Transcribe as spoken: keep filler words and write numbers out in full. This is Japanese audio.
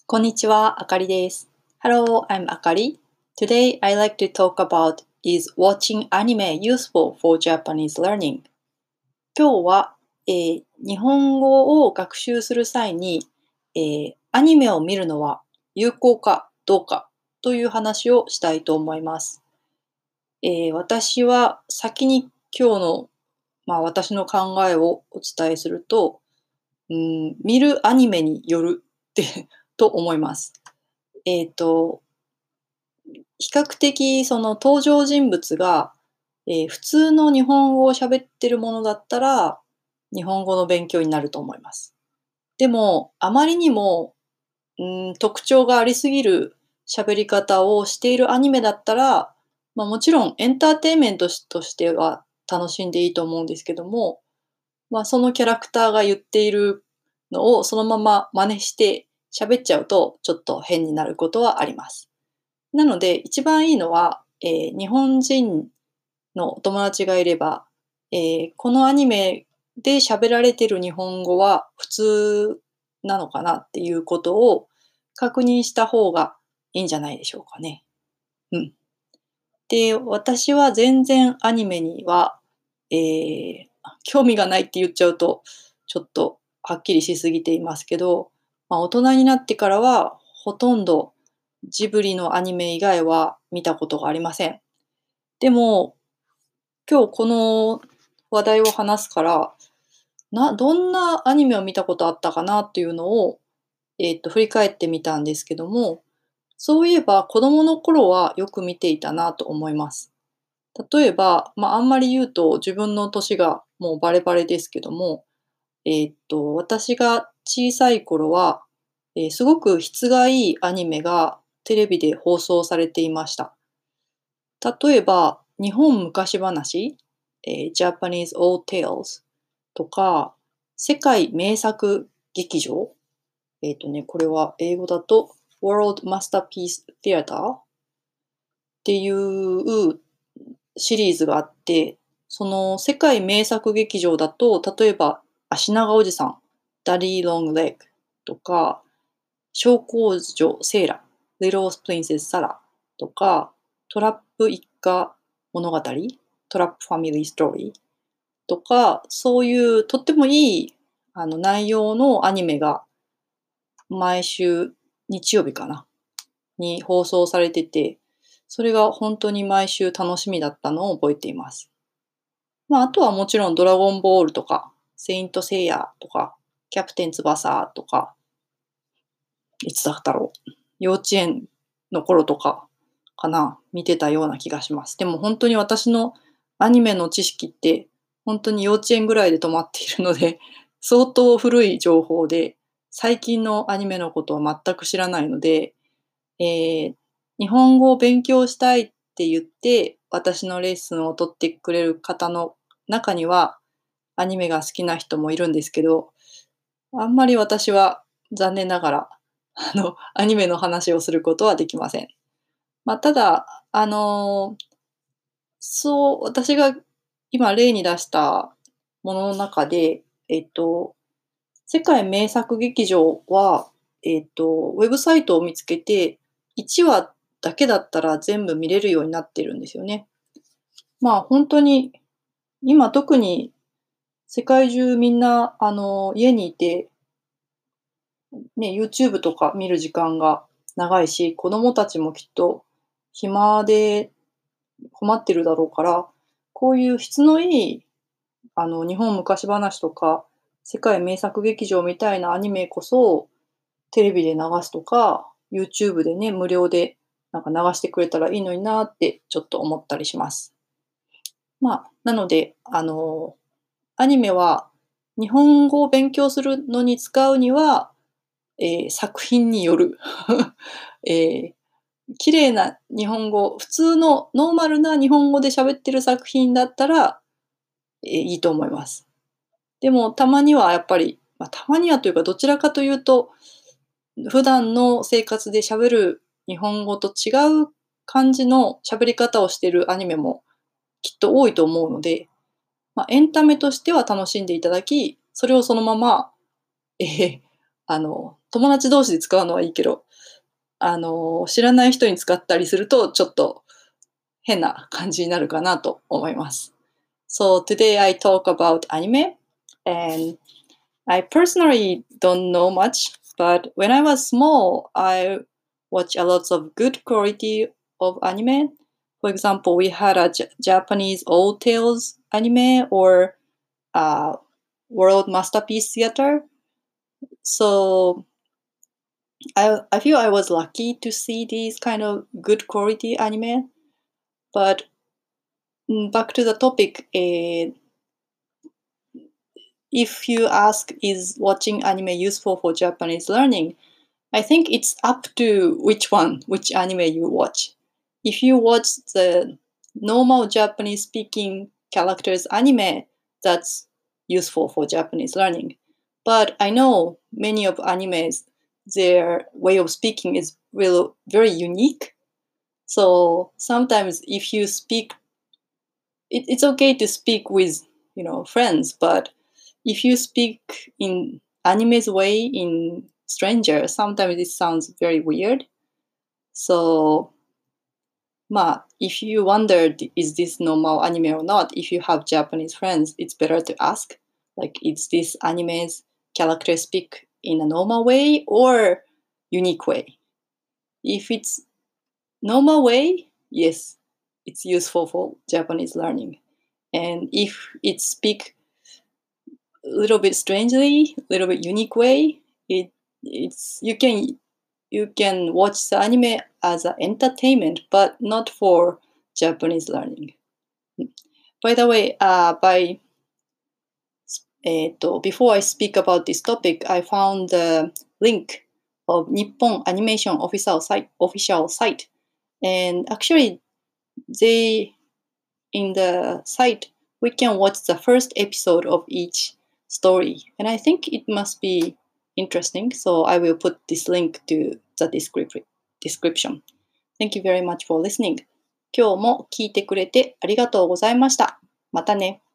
こんにちは、あかりです。Hello, I'm Akari. Today, I like to talk about is watching anime useful for Japanese learning? 今日は、えー日本語を学習する際に、えーアニメを見るのは有効かどうかという話をしたいと思います。えー私は先に今日の、まあ、私の考えをお伝えすると、うん、見るアニメによるってと思います。えっと、比較的その登場人物が、えー普通の日本語を喋ってるものだったら、日本語の勉強になると思います。でも、あまりにも、うん、特徴がありすぎる喋り方をしているアニメだったら、まあ、もちろんエンターテインメントとしては楽しんでいいと思うんですけども、まあ、そのキャラクターが言っているのをそのまま真似して喋っちゃうと、ちょっと変になることはあります。なので、一番いいのは、えー日本人のお友達がいれば、えーこのアニメで喋られてる日本語は普通なのかなっていうことを確認した方がいいんじゃないでしょうかね。うん。で、私は全然アニメには、えー興味がないって言っちゃうと、ちょっとはっきりしすぎていますけど、まあ、大人になってからはほとんどジブリのアニメ以外は見たことがありません。でも、今日この話題を話すから、などんなアニメを見たことあったかなっていうのを、えっと、振り返ってみたんですけども、そういえば子供の頃はよく見ていたなと思います。例えば、まあ、あんまり言うと自分の年がもうバレバレですけども、えっと、私が小さい頃は、えーすごく質がいいアニメがテレビで放送されていました。例えば、日本昔話、えー Japanese Old Tales とか、世界名作劇場、えっとね、これは英語だと World Masterpiece Theater っていうシリーズがあって、その世界名作劇場だと、例えば、足長おじさん、ダディ・ロング・レッグとか、小公女セーラ、リトル・プリンセス・サラとか、トラップ一家物語、トラップファミリーストーリーとか、そういうとってもいいあの内容のアニメが毎週日曜日かなに放送されてて、それが本当に毎週楽しみだったのを覚えています。まあ、あとはもちろんドラゴンボールとか、セイントセイヤとか、キャプテン翼とか、いつだったろう。幼稚園の頃とかかな、見てたような気がします。でも本当に私のアニメの知識って、本当に幼稚園ぐらいで止まっているので、相当古い情報で、最近のアニメのことは全く知らないので、えー日本語を勉強したいって言って、私のレッスンを取ってくれる方の中には、アニメが好きな人もいるんですけど、あんまり私は残念ながら、あの、アニメの話をすることはできません。まあ、ただ、あの、そう、私が今例に出したものの中で、えっと、世界名作劇場は、えっと、ウェブサイトを見つけて、いちわだけだったら全部見れるようになってるんですよね。まあ、本当に、今特に世界中みんな、あの、家にいて、ね、YouTube とか見る時間が長いし、子供たちもきっと暇で困ってるだろうから、こういう質のいい、あの、日本昔話とか、世界名作劇場みたいなアニメこそ、テレビで流すとか、YouTube でね、無料でなんか流してくれたらいいのになってちょっと思ったりします。まあ、なので、あの、アニメは日本語を勉強するのに使うには、えー作品による。えー綺麗な日本語、普通のノーマルな日本語で喋ってる作品だったら、えーいいと思います。でもたまにはやっぱり、まあ、たまにはというかどちらかというと、普段の生活で喋る日本語と違う感じの喋り方をしているアニメもきっと多いと思うので、まあ、エンタメとしては楽しんでいただき、それをそのまま、えーあの、友達同士で使うのはいいけど、あの、知らない人に使ったりすると、ちょっと変な感じになるかなと思います。So today I talk about anime, and I personally don't know much, but when I was small, I watched a lot of good quality of anime. For example, we had a J- Japanese old tales anime or uh, World Masterpiece Theater. So I I feel I was lucky to see these kind of good quality anime. But mm, back to the topic, eh, if you ask, is watching anime useful for Japanese learning? I think it's up to which one, which anime you watch. If you watch the normal Japanese speaking characters anime, that's useful for Japanese learning. But I know many of animes, their way of speaking is really very unique. So sometimes if you speak, it, it's okay to speak with, you know, friends, but if you speak in anime's way in stranger, sometimes it sounds very weird. So, まあ、if you wonder, is this normal anime or not, if you have Japanese friends, it's better to ask, like, is this anime's character speak in a normal way or unique way? If it's normal way, yes, it's useful for Japanese learning. And if it speak a little bit strangely, a little bit unique way, it it's you can you can watch the anime as an entertainment, but not for Japanese learning. By the way, uh, by えっと before I speak about this topic, I found the link of Nippon Animation official site, official site, and actually, they in the site we can watch the first episode of each story, and I think it must be interesting. So I will put this link to the descrip- description. Thank you very much for listening. 今日も聞いてくれてありがとうございました。またね。